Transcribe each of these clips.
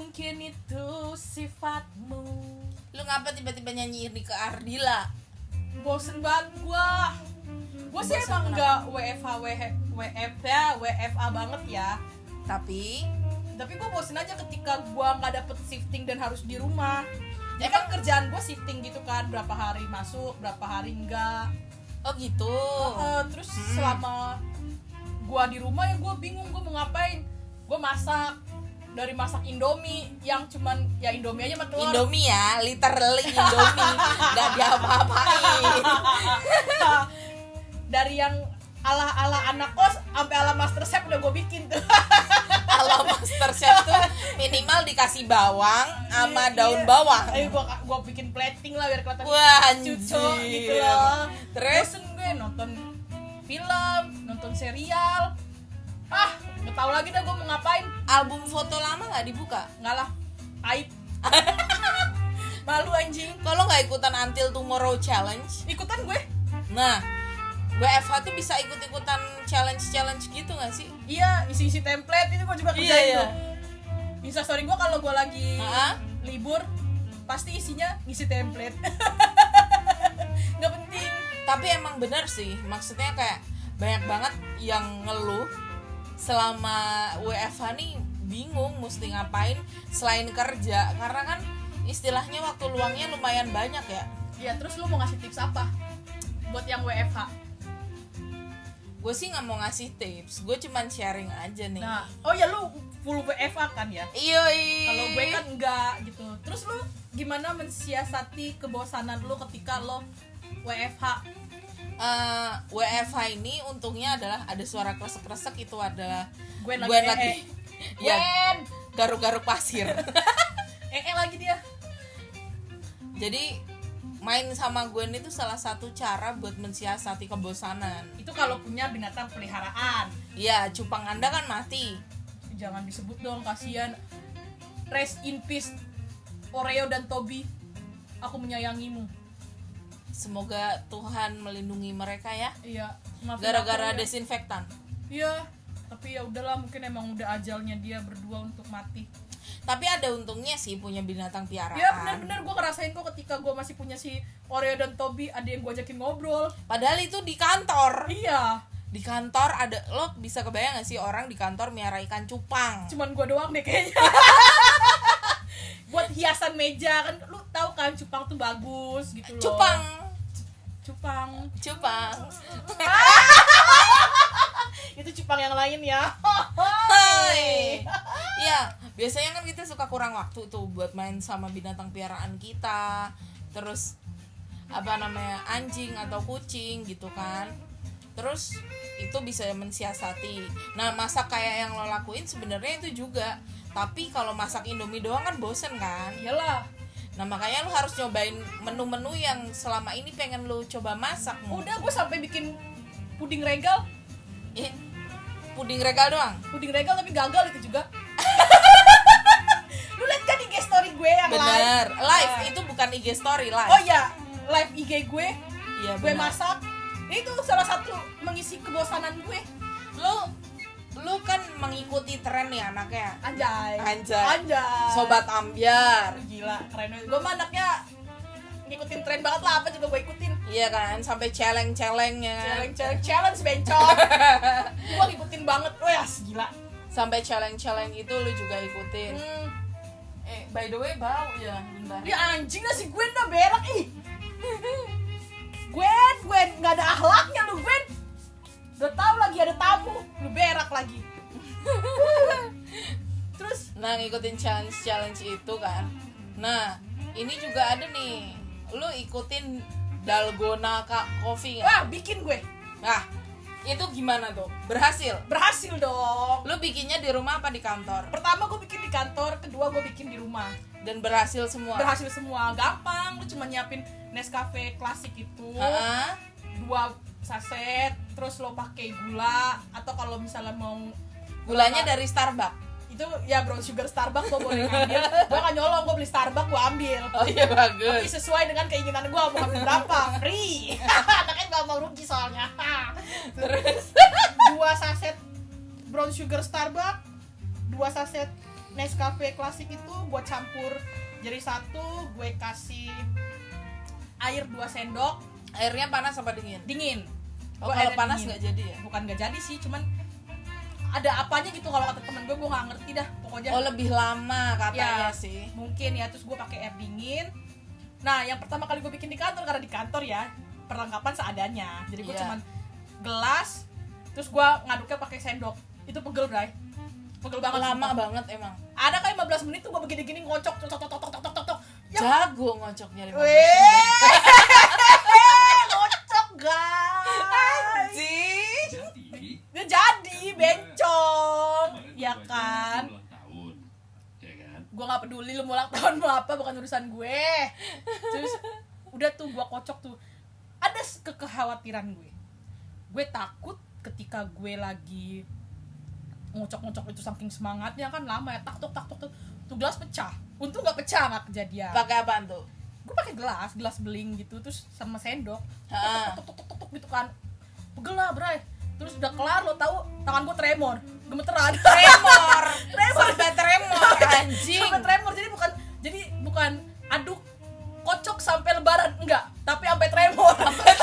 mungkin itu sifatmu. Lu ngapa tiba-tiba nyanyi ini ke Ardila? Bosen banget gua sih Bosen emang kenapa? nggak WFA banget ya. Tapi Tapi gua bosen aja ketika gua nggak dapet shifting dan harus di rumah. Ya kan kerjaan gua shifting gitu kan, berapa hari masuk, berapa hari enggak. oh gitu. Terus selama gua di rumah ya gua bingung gua mau ngapain. Gua masak, dari masak Indomie yang cuman ya Indomie aja sama telur. Indomie ya, literally Indomie. Gak diapa-apain. Dari yang ala anak kos sampai ala master chef udah gue bikin tuh. Kalau master chef tuh minimal dikasih bawang sama daun bawang. Ayo gue bikin plating lah biar kelihatan Wah, cucu anjir. gitu loh. Terus Bosen gue nonton film, nonton serial. Nggak tahu lagi dah gue mau ngapain. album foto lama nggak dibuka? Nggak lah, aib. Malu anjing. Kalau nggak ikutan Until Tomorrow Challenge? Ikutan gue. Nah, WFH tuh bisa ikut-ikutan challenge gitu nggak sih? Iya, isi template itu gue juga kerjain Iya. tuh. Instastory gue kalau gue lagi Hah? libur pasti isinya ngisi template. Nggak penting. Tapi emang bener sih, maksudnya kayak banyak banget yang ngeluh selama WFH nih bingung mesti ngapain selain kerja, karena kan istilahnya waktu luangnya lumayan banyak ya. Ya terus lu mau ngasih tips apa buat yang WFH? Gue sih nggak mau ngasih tips, gue cuman sharing aja nih. Nah, oh ya lu full WFH kan ya? Iya. Kalau gue kan enggak gitu. Terus lu gimana mensiasati kebosanan lu ketika lo WFH? WFH ini untungnya adalah ada suara kresek-kresek, itu adalah Gwen Gwen lagi. ya, Gwen. garuk-garuk pasir. Lagi dia. Jadi main sama Gwen itu salah satu cara buat mensiasati kebosanan. Itu kalau punya binatang peliharaan. Iya, cupang Anda kan mati. Jangan disebut dong, kasihan. Rest in peace Oreo dan Toby. Aku menyayangimu. Semoga Tuhan melindungi mereka ya. Iya, maafin Gara-gara aku ya. desinfektan. Iya, tapi ya udahlah, mungkin emang udah ajalnya dia berdua untuk mati. Tapi ada untungnya sih punya binatang piaraan. Ya benar-benar gue ngerasain kok ketika gue masih punya si Oreo dan Toby, ada yang gue ajakin ngobrol. Padahal itu di kantor. Iya, Di kantor ada, lo bisa kebayang gak sih orang di kantor miara ikan cupang? cuman gue doang deh kayaknya. Buat hiasan meja kan, lu tahu kan cupang tuh bagus gitu loh. Cupang. Itu cupang yang lain ya. Hai. Iya, biasanya kan kita suka kurang waktu tuh buat main sama binatang piaraan kita. Terus anjing atau kucing gitu kan. Terus itu bisa mensiasati. Nah, masak kayak yang lo lakuin sebenarnya itu juga. Tapi kalau masak Indomie doang kan bosen kan. Iyalah. Nah, makanya lo harus nyobain menu-menu yang selama ini pengen lo coba masak. Udah, gue sampai bikin puding regal. Puding regal doang. Puding regal tapi gagal itu juga. Lu liat kan IG story gue yang Bener, live? live itu bukan IG story, live. Oh iya, live IG gue. Iya, Gue bener. masak. Itu salah satu mengisi kebosanan gue. Lu kan mengikuti tren nih anaknya. Anjay. Sobat ambiar. Gila, keren banget. Gue mah anaknya ngikutin tren banget lah, apa juga gue ikutin. Iya kan, sampai celeng-celengnya kan. Challenge bencong. Gue ngikutin banget. Wah, gila. Sampai celeng-celeng itu lu juga ikutin. By the way bau ya, bentar. Ya anjing lah si Gwen dah berak ih. Gwen, nggak ada akhlaknya lu Gwen. Udah tahu lagi ada tamu, lu berak lagi. Terus, Nah, ngikutin challenge itu kan. Nah, ini juga ada nih. Lu ikutin Dalgona Coffee wah nggak? bikin gue. Nah, itu gimana tuh? Berhasil? Berhasil dong. Lu bikinnya di rumah apa di kantor? Pertama gue bikin di kantor, kedua gue bikin di rumah. Dan berhasil semua? Berhasil semua, gampang. Lu cuma nyiapin Nescafe klasik itu. Heeh. 2 saset, terus lo pakai gula, atau kalau misalnya mau Gulanya dari Starbucks. itu ya brown sugar Starbucks gue boleh ngambil. Gue kan nyolong, gue beli Starbucks gue ambil. Oh iya, Tapi bagus. sesuai dengan keinginan gue, mau ambil berapa, free. Anaknya gak mau rugi soalnya. Terus 2 saset brown sugar Starbucks, 2 saset Nescafe klasik itu gue campur jadi satu, gue kasih air 2 sendok. Airnya panas apa dingin? Dingin. Oh, Gua kalau airnya panas dingin. nggak jadi ya? Bukan nggak jadi sih, cuman ada apanya gitu kalau kata temen gue nggak ngerti dah pokoknya. Oh, lebih lama katanya Ya, sih. mungkin ya. Terus gue pakai air dingin. Nah, yang pertama kali gue bikin di kantor, karena di kantor ya perlengkapan seadanya. Jadi gue Iya. cuman gelas, terus gue ngaduknya pakai sendok. Itu pegel, Bray. Pegel banget. Lama sumpah. banget emang. Ada kayak 15 menit tuh gue begini-gini ngocok, tok tok tok tok tok tok tok. Ya, Jago ngocoknya 15 menit. weh, ngocok guys. Anjing. Dia jadi bencong, ya kan? Gue nggak peduli lu mau ulang tahun mau apa, bukan urusan gue. Terus udah tuh gue kocok tuh. Ada kekhawatiran gue takut ketika gue lagi ngocok-ngocok itu saking semangatnya kan lama ya, tak tok tuh gelas pecah. Untung nggak pecah, nggak kejadian. Pakai apaan tuh? Gue pakai gelas beling gitu, terus sama sendok tok gitu kan, pegel lah Bray. Terus udah kelar, lo tahu tangan gue tremor, gemeteran. Tremor. Sampai tremor anjing. Sampai tremor, jadi bukan aduk kocok sampai lebaran, enggak, tapi sampai tremor.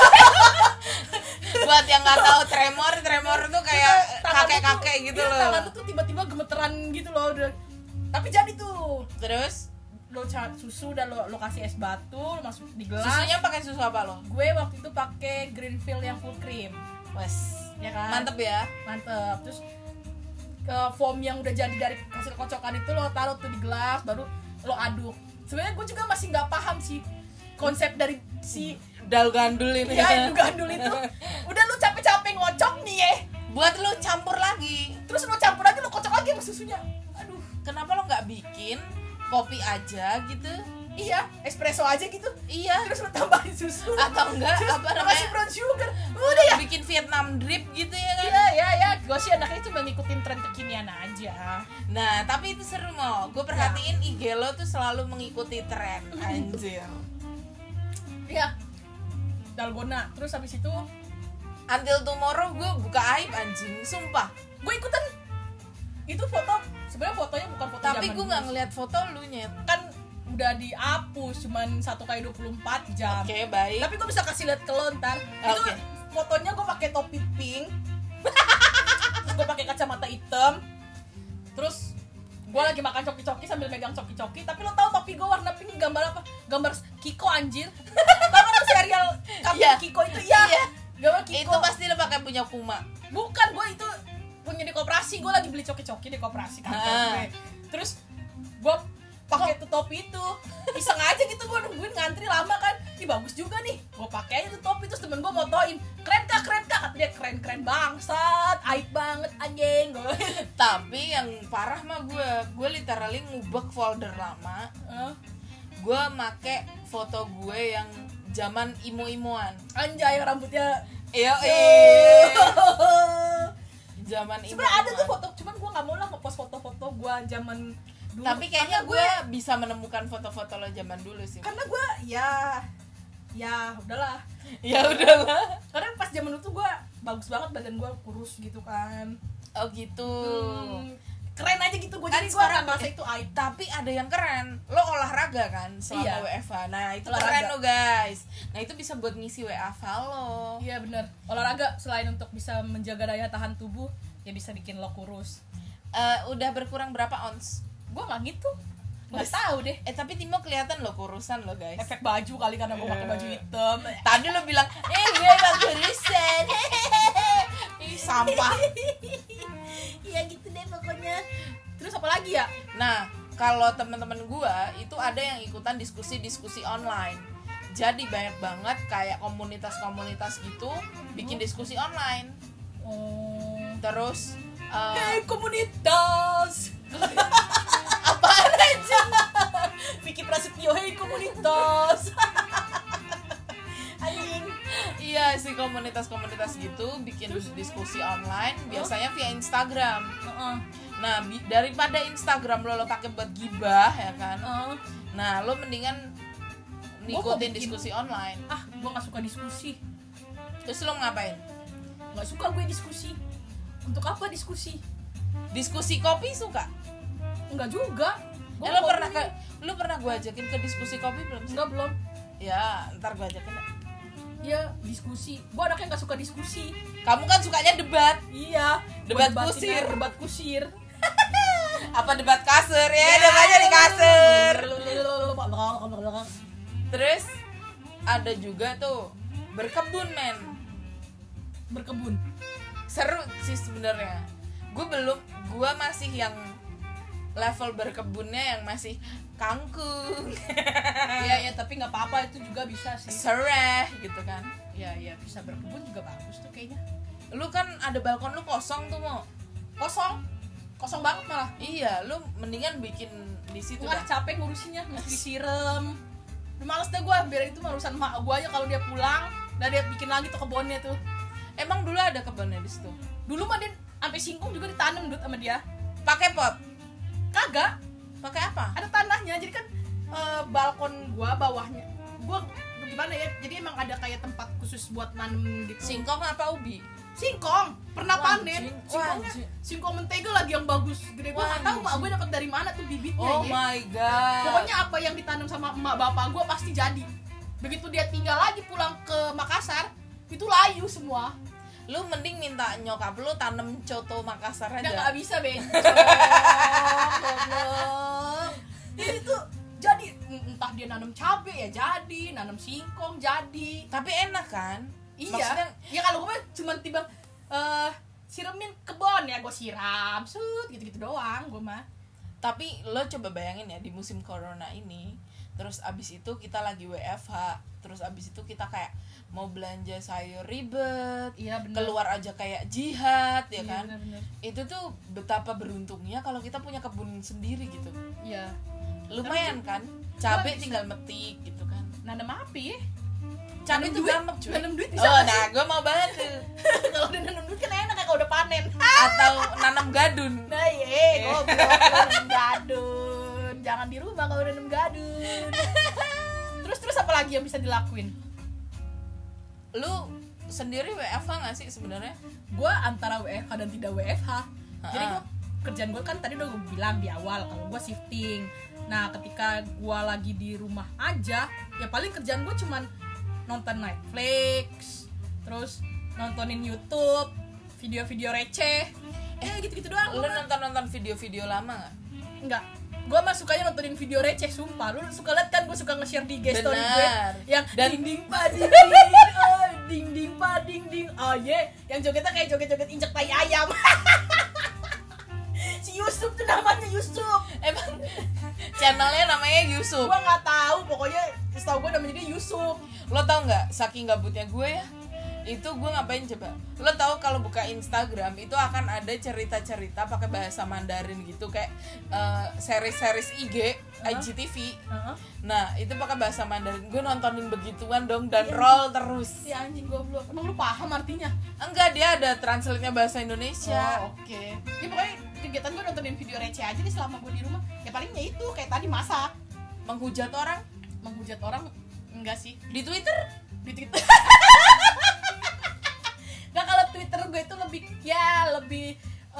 Buat yang nggak tahu tremor tuh kayak kakek-kakek gitu iya, loh. tangan tuh tiba-tiba gemeteran gitu loh. Tapi jadi tuh Terus lo susu dan lo kasih es batu, lo masuk di gelas. susunya pakai susu apa lo? Gue waktu itu pakai Greenfield yang full cream. Wes, Ya kan? mantep ya. Mantep. Terus foam yang udah jadi dari hasil kocokan itu lo taruh tuh di gelas, baru lo aduk. Sebenarnya gue juga masih nggak paham sih konsep dari si Dal gandul ini. ya gandul itu. Udah lo capek-capek ngocok nih ya, Buat lu campur lagi. terus lo campur lagi, lo kocok lagi sama susunya. Aduh, Kenapa lo nggak bikin kopi aja gitu? iya, espresso aja gitu. Iya. Terus lo tambahin susu. Atau enggak Terus apa lo namanya? kasih brown sugar. Udah ya. Bikin Vietnam drip gitu ya kan? Ya, gue sih anaknya cuma ngikutin tren kekinian aja. Nah, tapi itu seru mau. Gue perhatiin IG lo tuh selalu mengikuti tren. Anjir. Iya. Dalgona. Terus habis itu Until tomorrow gue buka aib anjing, sumpah. gue ikutan. Itu foto, sebenarnya fotonya bukan foto Tapi zaman gue dulu. nggak ngeliat foto lu nyet. Kan udah dihapus cuman 1x24 jam. Oke, baik. Tapi gue bisa kasih lihat ke lo ntar. Itu Oke. fotonya gue pakai topi pink. Terus gue pakai kacamata hitam. Terus gue lagi makan coki-coki sambil megang coki-coki. Tapi lo tau topi gue warna pink gambar apa? Gambar Kiko anjir. Tau kan lo serial kartun Iya. Kiko itu? Iya. Iya. Gambar Kiko. Itu pasti lo pakai punya Puma. Bukan, gue itu punya di koperasi. Gue lagi beli coki-coki di koperasi kantor gue. Terus gue pakai tuh topi itu, iseng aja gitu. Gue nungguin ngantri lama kan. Ih bagus juga nih, gue pakai aja tuh topi. Terus temen gue motoin, keren kak, kata dia. Keren bangsat, aib banget anjing. Tapi yang parah mah gue literally ngubek folder lama. Gue make foto gue yang zaman imo-imoan. Anjay, rambutnya Iya, zaman imo. sebenarnya ada tuh foto, cuman gue nggak mau lah ngepost foto-foto gue zaman dulu. Tapi kayaknya Karena gue bisa menemukan foto-foto lo zaman dulu sih. karena gue ya udahlah. Ya udahlah. Karena pas zaman dulu tuh gue bagus banget, badan gue kurus gitu kan. Oh gitu. Keren aja gitu gue. Kan Jadi gue sekarang nggak merasa itu aib. Tapi ada yang keren. Lo olahraga kan selama Iya. WFH. Nah, itu Olahraga. keren lo guys. Nah, itu bisa buat ngisi WFH lo. Iya benar. Olahraga selain untuk bisa menjaga daya tahan tubuh, ya bisa bikin lo kurus. Udah berkurang berapa ons? Gue nggak gitu. Nggak Mas- tahu deh. Tapi Timo kelihatan lo kurusan lo guys. Efek baju kali karena gue pakai baju hitam. Tadi lo bilang, gue bang kurusan. Ih, sampah. Iya gitu deh pokoknya. Terus apa lagi ya? Nah, kalau teman-teman gua itu ada yang ikutan diskusi-diskusi online. Jadi banyak banget kayak komunitas-komunitas gitu bikin diskusi online. Terus Hei komunitas. apaan aja? Vicky Prasetyo, hei komunitas. Anjing. Iya sih, komunitas-komunitas gitu bikin diskusi online biasanya via Instagram. Nah, daripada Instagram lo pakai buat gibah ya kan. Nah, lo mendingan ngikutin bikin. diskusi online. Gue nggak suka diskusi. Terus lo ngapain? Nggak suka gue diskusi. Untuk apa diskusi? Diskusi kopi suka? Enggak juga. Lu pernah gue ajakin ke diskusi kopi belum sih? Enggak, belum. Ya, ntar gue ajakin. Iya, diskusi. Gue anaknya nggak suka diskusi. Kamu kan sukanya debat. Iya. Debat kusir. Apa debat kasur ya? Debatnya di kasur. Terus ada juga tuh berkebun, men. Berkebun. Seru sih sebenarnya. Gue masih yang level berkebunnya yang masih kangkung. Iya, tapi nggak apa-apa, itu juga bisa sih. Sereh gitu kan. Iya, bisa berkebun juga bagus tuh kayaknya. Lu kan ada balkon lu kosong tuh, mau. Kosong banget malah. Iya, lu mendingan bikin di situ dah. Capek ngurusinnya, mesti disiram. Udah males deh gue, biar itu urusan mak gue aja, kalau dia pulang, dan dia bikin lagi tuh kebunnya tuh. Emang dulu ada kebunnya di situ? Dulu mah dia sampai singkong juga ditanam Dut sama dia. Pakai pot? Kagak. Pakai apa? Ada tanahnya, jadi kan balkon gue bawahnya. Gue gimana ya? Jadi emang ada kayak tempat khusus buat nanam gitu. Singkong apa ubi? Singkong, pernah panen. Singkong mentega lagi yang bagus gede. Gue nggak tahu mak gue dapat dari mana tuh bibitnya. Oh ya. My god. Pokoknya apa yang ditanam sama emak bapak gue pasti jadi. Begitu dia tinggal lagi pulang ke Makassar, itu layu semua. Lu mending minta nyokap lu tanam coto Makassar aja. Udah nggak bisa, bencong. Jadi tuh jadi entah dia nanam cabe ya jadi, nanam singkong jadi. Tapi enak kan? Iya. Maksudnya, ya kalau gue cuma tiba siramin kebon ya, gue siram, gitu-gitu doang gue mah. Tapi lo coba bayangin ya, di musim corona ini, terus abis itu kita lagi WFH, terus abis itu kita kayak mau belanja sayur ribet, iya, keluar aja kayak jihad ya iya, kan. Bener. Itu tuh betapa beruntungnya kalau kita punya kebun sendiri gitu. Iya. Lumayan kan, cabe tinggal metik gitu kan. Nanam api ya? Cabe itu gampang cuy. Nanam duit bisa. Oh nah, gue mau banget tuh. Kalau udah nanam duit kan enak ya kalau udah panen. Atau nanam gadun. Nah iya, goblok nanam gadun. Jangan di rumah kalau udah nanam gadun. Terus apa lagi yang bisa dilakuin? Lu sendiri WFH nggak sih sebenarnya? Gue antara WFH dan tidak WFH. Jadi gue kerjaan gue kan tadi udah gue bilang di awal kalau gue shifting. Nah ketika gue lagi di rumah aja, ya paling kerjaan gue cuman nonton Netflix, terus nontonin YouTube, video-video receh, gitu-gitu doang. Lu nonton video-video lama nggak? Enggak. Gue mah sukanya nontonin video receh, sumpah. Lu suka liat kan gue suka nge-share di story gue yang ding pa ding ding. Oh yeah, yang jogetnya kayak joget-joget injek tai ayam. Si Yusuf tuh namanya Yusuf. Emang channelnya namanya Yusuf? Gue nggak tahu, pokoknya setahu gue namanya dia Yusuf. Lo tau nggak, saking gabutnya gue ya, itu gue ngapain coba? Lo tau kalau buka Instagram itu akan ada cerita-cerita pakai bahasa Mandarin gitu, kayak series IG IGTV. Nah itu pakai bahasa Mandarin. Gue nontonin begituan dong dan roll terus. Si anjing goblok. Emang lu paham artinya? Enggak, dia ada translate-nya bahasa Indonesia. Oh, oke. Ya pokoknya kegiatan gue nontonin video receh aja nih selama gue di rumah. Ya palingnya itu kayak tadi masak. Menghujat orang Enggak sih. di Twitter. Nah kalau Twitter gue itu lebih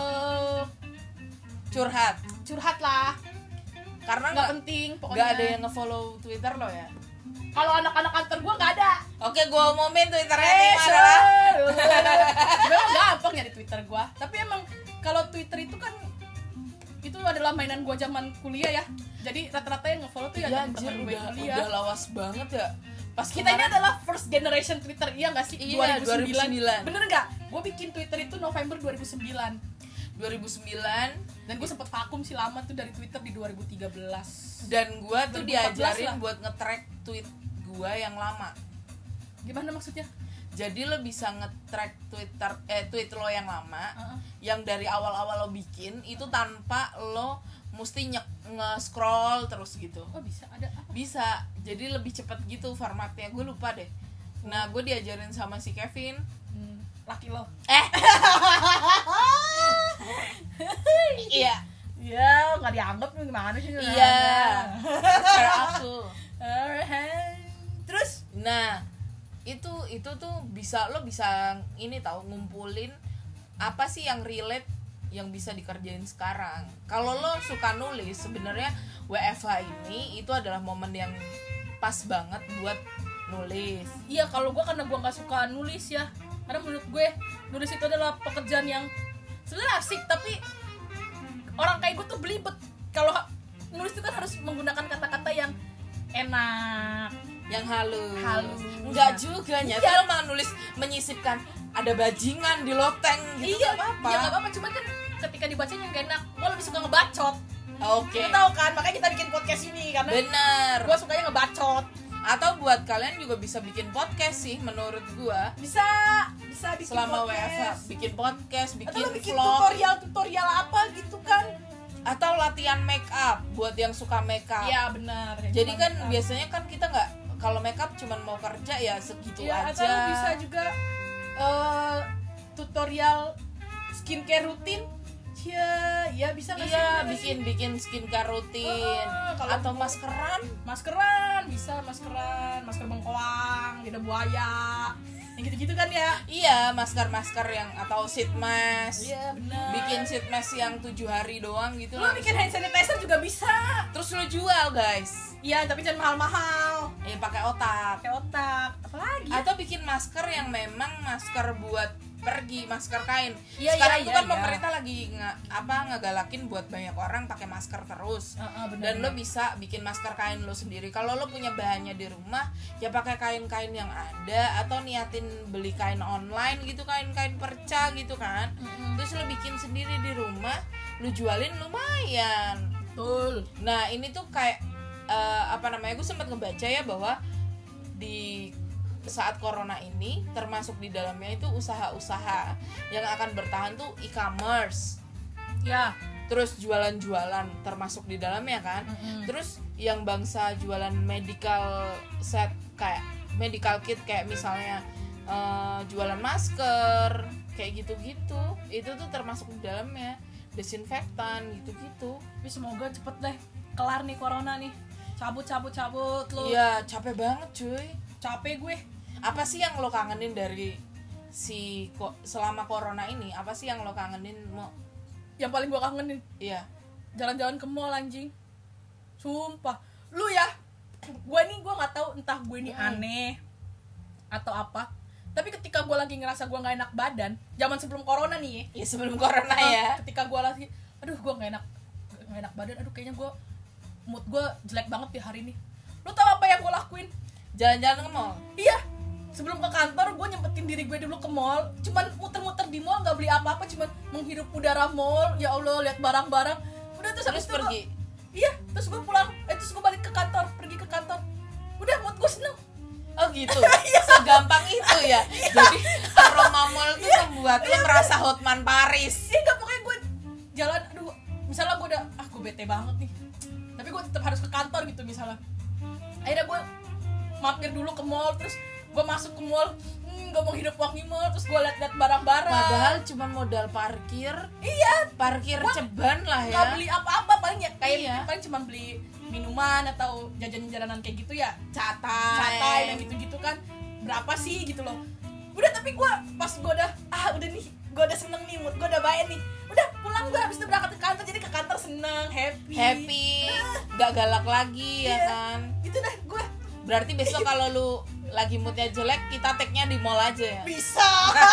curhat lah. Karena nggak penting pokoknya. Nggak ada yang nge-follow Twitter lo ya. Kalau anak-anak kantor gue nggak ada. Oke, gue umumin Twitternya adalah. Sebenarnya gampang ya di Twitter gue. Tapi emang kalau Twitter itu kan itu adalah mainan gue zaman kuliah ya. Jadi rata-rata yang nge-follow tuh ya teman-teman gue kuliah. Udah lawas banget ya. Pas kita ini adalah first generation Twitter, iya nggak sih? Iya, 2009. Bener nggak? Gue bikin Twitter itu November 2009. Dan gue sempet vakum sih lama tuh dari Twitter di 2013. Dan gue tuh diajarin lah buat nge-track tweet gue yang lama. Gimana maksudnya? Jadi lo bisa nge-track tweet lo yang lama, yang dari awal-awal lo bikin itu tanpa lo mesti nge-scroll terus gitu. Oh bisa, ada apa? Bisa, jadi lebih cepat gitu formatnya, gue lupa deh. Nah gue diajarin sama si Kevin. Laki lo? Iya. Iya, nggak dianggap nih gimana sih? Iya. Cara aku. Terus? Nah itu tuh lo bisa ini tahu ngumpulin apa sih yang relate yang bisa dikerjain sekarang. Kalau lo suka nulis, sebenarnya WFH ini itu adalah momen yang pas banget buat nulis. Iya, kalau gue karena gue nggak suka nulis ya, karena menurut gue nulis itu adalah pekerjaan yang sebenarnya asik, tapi orang kayak gue tuh belibet. Kalau nulis itu kan harus menggunakan kata-kata yang enak, yang halus. Iya. Enggak juga nya. Kalau malah nulis menyisipkan ada bajingan di loteng gitu. Iya, nggak apa-apa. iya nggak apa-apa. Cuman kan ketika dibacanya nggak enak. Gue lebih suka ngebacot. Oke. Lo tau kan, makanya kita bikin podcast ini karena Bener. gue sukanya ngebacot. Atau buat kalian juga bisa bikin podcast sih menurut gua. Bisa bikin Selama podcast. WFH bikin podcast, Atau bikin lo bikin vlog, tutorial apa gitu kan. atau latihan make up buat yang suka make up. Iya benar. Jadi kan biasanya kan kita nggak, kalau make up cuman mau kerja ya segitu ya, aja. atau lo bisa juga tutorial skincare rutin. Ya bisa nggak sih? Iya, bikin skincare rutin. Kalau Atau maskeran. bisa masker bengkoang, lidah buaya, yang gitu-gitu kan ya. Iya, masker yang atau sheet mask. Iya benar. Bikin sheet mask yang 7 hari doang gitu Lo lah. bikin hand sanitizer juga bisa. Terus lo jual, guys. Iya, tapi jangan mahal-mahal. Ya pakai otak. Pakai otak. Apalagi? Atau bikin masker yang memang masker buat pergi, masker kain. Iya, Sekarang iya, tuh kan iya. pemerintah lagi ngegalakin buat banyak orang pakai masker terus. benar, Dan lo bisa bikin masker kain lo sendiri. Kalau lo punya bahannya di rumah, ya pakai kain-kain yang ada, atau niatin beli kain online gitu, kain-kain perca gitu kan. Terus lo bikin sendiri di rumah, lo jualin lumayan. betul. Nah ini tuh kayak gue sempat ngebaca ya bahwa di saat corona ini termasuk di dalamnya itu usaha-usaha yang akan bertahan tuh e-commerce. Ya. Terus jualan-jualan termasuk di dalamnya kan. Terus yang bangsa jualan medical set kayak medical kit, kayak misalnya jualan masker kayak gitu-gitu, itu tuh termasuk di dalamnya, desinfektan gitu-gitu. Tapi semoga cepet deh kelar nih corona nih. Cabut lo. Iya, capek banget cuy. Capek gue. Apa sih yang lo kangenin dari selama corona ini? Apa sih yang lo kangenin? Yang paling gue kangenin Iya. jalan-jalan ke mall anjing. Sumpah. Lu ya, gue nggak tahu entah gue ini aneh atau apa. Tapi ketika gue lagi ngerasa gue nggak enak badan, zaman sebelum corona nih. Ya sebelum corona ya. Ketika gue lagi, aduh gue nggak enak badan, aduh kayaknya gue mood gue jelek banget di hari ini. Lu tau apa yang gue lakuin? Jalan-jalan ke mall. Iya, sebelum ke kantor gue nyempetin diri gue dulu ke mall, cuman muter-muter di mall, nggak beli apa-apa, cuman menghirup udara mall. Ya Allah, lihat barang-barang. Udah terus habis itu pergi. Iya, terus gue pulang, terus gue balik ke kantor, pergi ke kantor. Udah, mood gue seneng. Oh gitu. Segampang itu ya. Jadi aroma mall tuh membuat lo merasa Hotman Paris. Iya, nggak, pokoknya gue jalan, aduh, misalnya gue udah, gue bete banget nih, tapi gue tetap harus ke kantor gitu misalnya. Akhirnya gue mampir dulu ke mall, terus gue masuk ke mall, gue mau hidup wangi mall, terus gue liat-liat barang-barang. Padahal cuma modal parkir. Iya, Parkir ceban lah ya. nggak beli apa-apa, paling ya kayak Iya. paling cuma beli minuman atau jajanan-jajanan kayak gitu ya, Catai. catai dan gitu-gitu kan. Berapa sih gitu loh. Udah, tapi gue pas gue udah udah nih, gue udah seneng nih, mood gue udah baik nih. Udah pulang, gue habis itu berangkat ke kantor, jadi ke kantor seneng, happy. Nggak galak lagi ya kan. Gitu dah gue. Berarti besok kalau lu lagi moodnya jelek, kita tag-nya di mall aja ya. Bisa.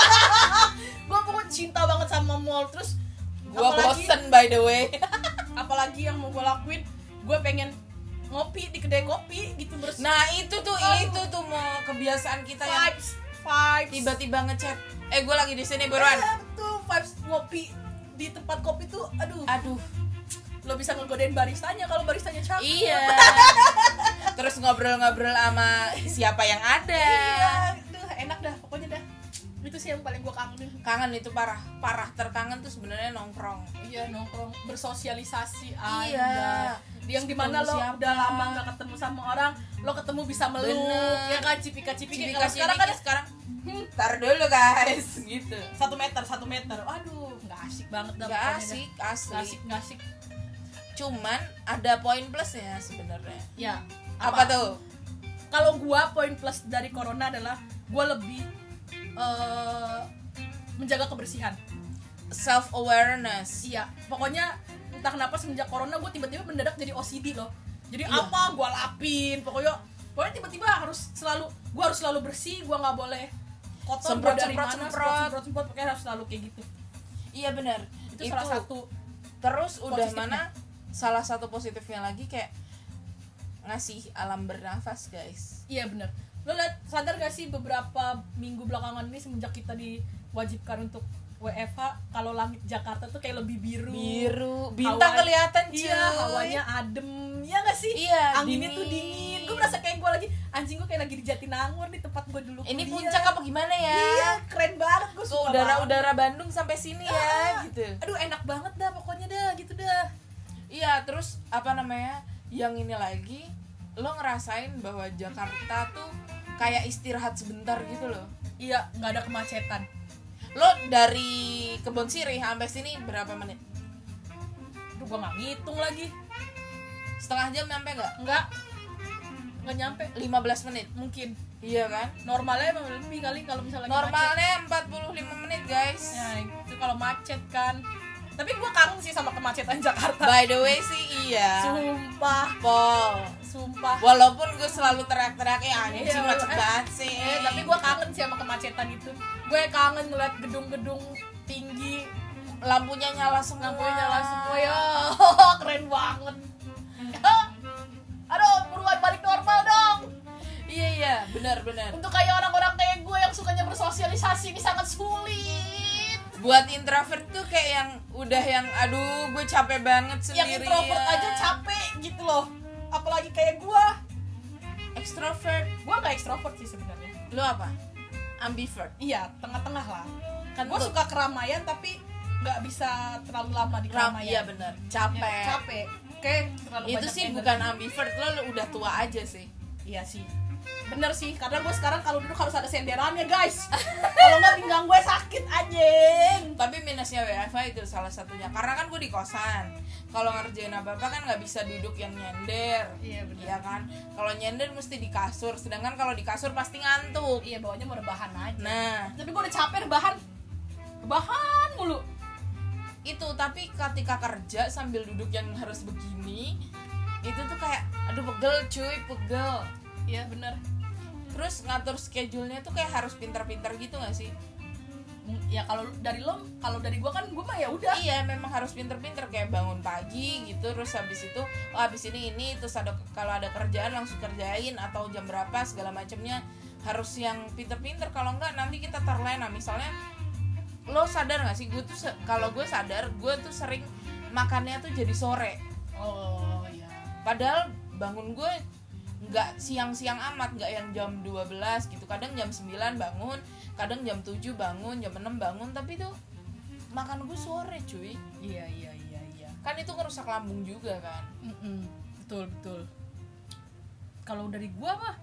Gue pokoknya cinta banget sama mall. Terus Gua bosen by the way. apalagi yang mau gue lakuin, gue pengen ngopi di kedai kopi gitu Nah itu tuh mau kebiasaan kita yang vibes tiba-tiba ngechat, gue lagi di sini buruan. Iya, betul, vibes ngopi di tempat kopi tuh, Aduh, lo bisa ngegodain baristanya kalau baristanya cakep. iya. Terus ngobrol-ngobrol sama siapa yang ada. Iya, enak dah pokoknya dah. Itu sih yang paling gue kangenin. Kangen itu parah terkangen tuh sebenarnya nongkrong. Iya, nongkrong, bersosialisasi Iya. Yang dimana lo Siapa? udah lama gak ketemu sama orang, lo ketemu bisa meluk. Bener. Ya kan, cipika-cipiki. Cipika Kalau sekarang kan sekarang tar dulu guys gitu. 1 meter. Aduh, nggak asik banget dah. Gak pokoknya asik dah. asli. Nggak asik. Cuman ada poin plusnya sebenarnya. Ya. Apa tuh? Kalau gua poin plus dari corona adalah gua lebih menjaga kebersihan. self awareness. Iya, pokoknya entah kenapa semenjak corona gue tiba-tiba mendadak jadi OCD loh. Jadi Iya. apa gue lapin, pokoknya tiba-tiba gue harus selalu bersih, gue nggak boleh kotor, Semprot, gua dari semprot, mana, semprot. semprot, pokoknya harus selalu kayak gitu. Iya benar. Itu salah satu. Terus udah positifnya. mana salah satu positifnya lagi kayak ngasih alam bernafas, guys. Iya benar. Lo sadar gak sih beberapa minggu belakangan ini semenjak kita diwajibkan untuk WFH, kalau langit Jakarta tuh kayak lebih biru, bintang kelihatan cuy. Iya, hawanya adem, ya gak sih? Iya, anginnya dingin. tuh dingin. Gue merasa kayak gue lagi, anjing gue kayak lagi di Jatinangor di tempat gue dulu Ini kuliah. puncak apa gimana ya? Iya, keren banget, gue Tuh suka banget. udara Bandung sampai sini ya, gitu. Aduh, enak banget dah pokoknya dah, gitu dah. Iya, terus apa namanya? Yang ini lagi, lo ngerasain bahwa Jakarta tuh kayak istirahat sebentar gitu loh. Iya, nggak ada kemacetan. Lo dari Kebon Sirih sampai sini berapa menit? Aduh, gue nggak ngitung lagi. Setengah jam nyampe nggak? Nggak nyampe 15 menit. mungkin. Iya kan? Normalnya emang lebih kali kalau misalnya lagi macet. Normalnya 45 menit, guys. Ya itu kalau macet kan. Tapi gue kangen sih sama kemacetan Jakarta. By the way sih iya. Sumpah, Sumpah. Walaupun gue selalu teriak-teriak anjing Iya, macet banget sih. tapi gue kangen sih sama kemacetan itu. Gue kangen ngeliat gedung-gedung tinggi, lampunya nyala semua. ya. Keren banget. Aduh, buruan balik normal dong. Iya, benar. Untuk kayak orang-orang kayak gue yang sukanya bersosialisasi ini sangat sulit. Buat introvert tuh kayak yang udah yang aduh gue capek banget Yang sendirian. introvert aja capek gitu loh. Apalagi kayak gue. Extrovert. Gue gak ekstrovert sih sebenarnya. Lu apa? Ambivert. Iya, tengah-tengah lah. Kan Gue suka keramaian tapi nggak bisa terlalu lama di keramaian. Iya benar. Capek. Ya, capek. Kayak terlalu Itu banyak sih energi. bukan ambivert, lo udah tua aja sih. Iya sih. Bener sih, karena gue sekarang kalau duduk harus ada senderannya guys. Kalau nggak pinggang gue sakit anjing. Tapi minusnya WFH itu salah satunya. Karena kan gue di kosan. Kalau ngerjain apa-apa kan nggak bisa duduk yang nyender. Iya bener. Iya kan? Kalau nyender mesti di kasur. Sedangkan kalau di kasur pasti ngantuk. Iya, bawahnya mau rebahan aja. Nah, Tapi gue udah capek rebahan mulu. itu tapi ketika kerja sambil duduk yang harus begini, itu tuh kayak aduh pegel. Iya bener. Terus ngatur schedule-nya tuh kayak harus pintar-pintar gitu nggak sih? Ya kalau dari gue kan gue mah ya udah. Iya, memang harus pintar-pintar kayak bangun pagi gitu, terus habis itu habis ini terus ada kalau ada kerjaan langsung kerjain atau jam berapa segala macamnya harus yang pintar-pintar. Kalau enggak nanti kita terlena. Misalnya lo sadar nggak sih, kalau gue sadar gue tuh sering makannya tuh jadi sore. Oh iya. Padahal bangun gue nggak siang-siang amat, nggak yang jam 12 gitu. Kadang jam 9 bangun, kadang jam 7 bangun, jam 6 bangun, tapi tuh makan gue sore cuy. Iya. Kan itu ngerusak lambung juga kan. Betul. Kalau dari gue mah,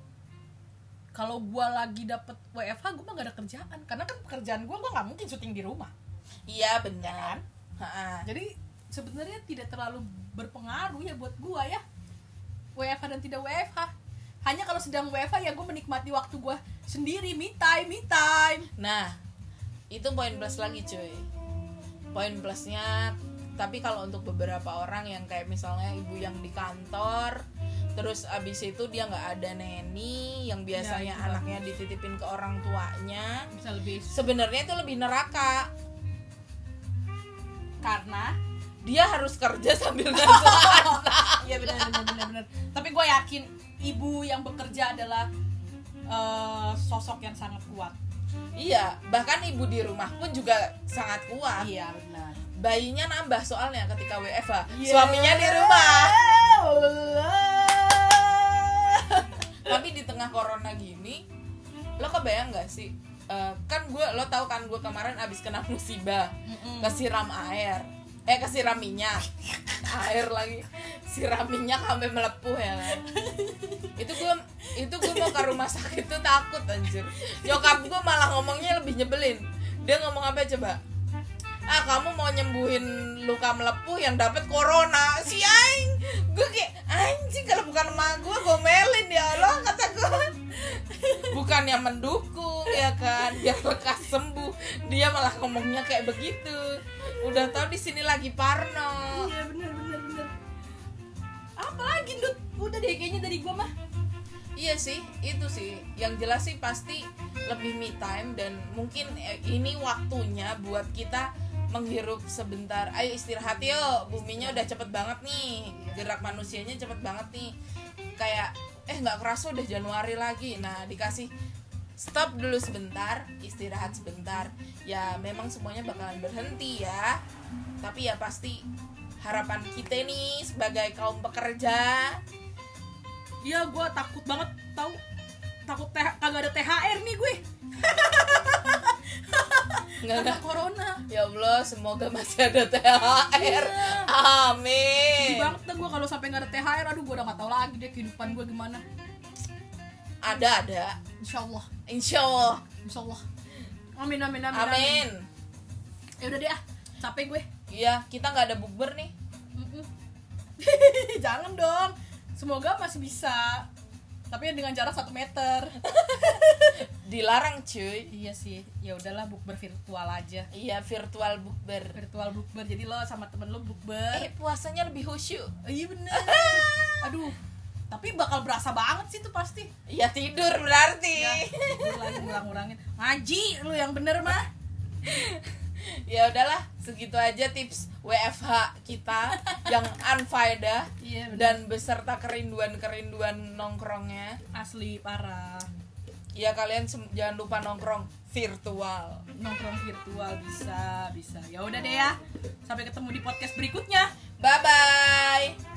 kalau gue lagi dapet WFH gue mah gak ada kerjaan, karena kan pekerjaan gue nggak mungkin syuting di rumah. Iya benar. Jadi sebenarnya tidak terlalu berpengaruh ya buat gue ya, WFH dan tidak WFH. Hanya kalau sedang WFH ya gue menikmati waktu gue sendiri, me time. Nah, itu poin plus lagi cuy. Poin plusnya, tapi kalau untuk beberapa orang yang kayak misalnya ibu yang di kantor, terus abis itu dia nggak ada neni yang biasanya Ya, anaknya dititipin ke orang tuanya, Bisa lebih, sebenarnya itu lebih neraka karena dia harus kerja sambil ngasuh anak. iya benar. Tapi gue yakin ibu yang bekerja adalah sosok yang sangat kuat. Iya, bahkan ibu di rumah pun juga sangat kuat. Iya benar. Bayinya nambah soalnya ketika WFH, Yeah. suaminya di rumah. Tapi di tengah corona gini, lo kebayang nggak sih? Kan lo tahu kan gue kemarin abis kena musibah, kesiram minyak, air lagi, siram minyak sampai melepuh ya kan. Itu gue mau ke rumah sakit tuh takut anjir. Nyokap gue malah ngomongnya lebih nyebelin. Dia ngomong apa coba? Kamu mau nyembuhin luka melepuh yang dapat corona. Si aing, gue kayak anjing, kalau bukan emak gue gomelin ya Allah, kata gue. Bukan yang mendukung, ya kan, biar lekas sembuh. Dia malah ngomongnya kayak begitu. Udah tahu di sini lagi parno. Iya bener. Apalagi Dut, udah deh kayaknya dari gua mah. Iya sih, itu sih. Yang jelas sih pasti lebih me time. Dan mungkin ini waktunya buat kita menghirup sebentar. Ayo istirahat yuk, buminya udah cepet banget nih. Gerak manusianya cepet banget nih. Kayak gak kerasa udah Januari lagi. Nah dikasih stop dulu sebentar, istirahat sebentar. Ya memang semuanya bakalan berhenti ya, tapi ya pasti harapan kita nih sebagai kaum pekerja. Iya, gue takut banget tahu, kagak ada THR nih gue. Nggak corona. Ya Allah, semoga masih ada THR. Iya. Amin. Sedih banget gue kalau sampai nggak ada THR. Aduh, gue udah nggak tahu lagi deh kehidupan gue gimana. Ada. Insya Allah. Amin. Ya udah deh capek gue. Iya, kita nggak ada bukber nih. Jangan dong. Semoga masih bisa. Tapi dengan jarak 1 meter. Dilarang cuy. Iya sih. Ya udahlah, bukber virtual aja. Iya, virtual bukber. Jadi lo sama temen lo bukber. Puasanya lebih khusyuk. Iya bener. Aduh. Tapi bakal berasa banget sih tuh pasti. Ya tidur berarti. Ya, tidur lagi ngurang-ngurangin. Ngaji lu yang bener mah. Ya udahlah, segitu aja tips WFH kita yang unfaedah. Iya, dan beserta kerinduan nongkrongnya. Asli parah. Ya kalian jangan lupa nongkrong virtual. Bisa. Ya udah deh ya. Sampai ketemu di podcast berikutnya. Bye bye.